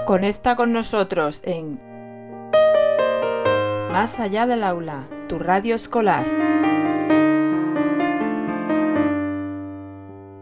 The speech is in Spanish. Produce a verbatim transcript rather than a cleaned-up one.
Conecta con nosotros en Más allá del aula, tu radio escolar.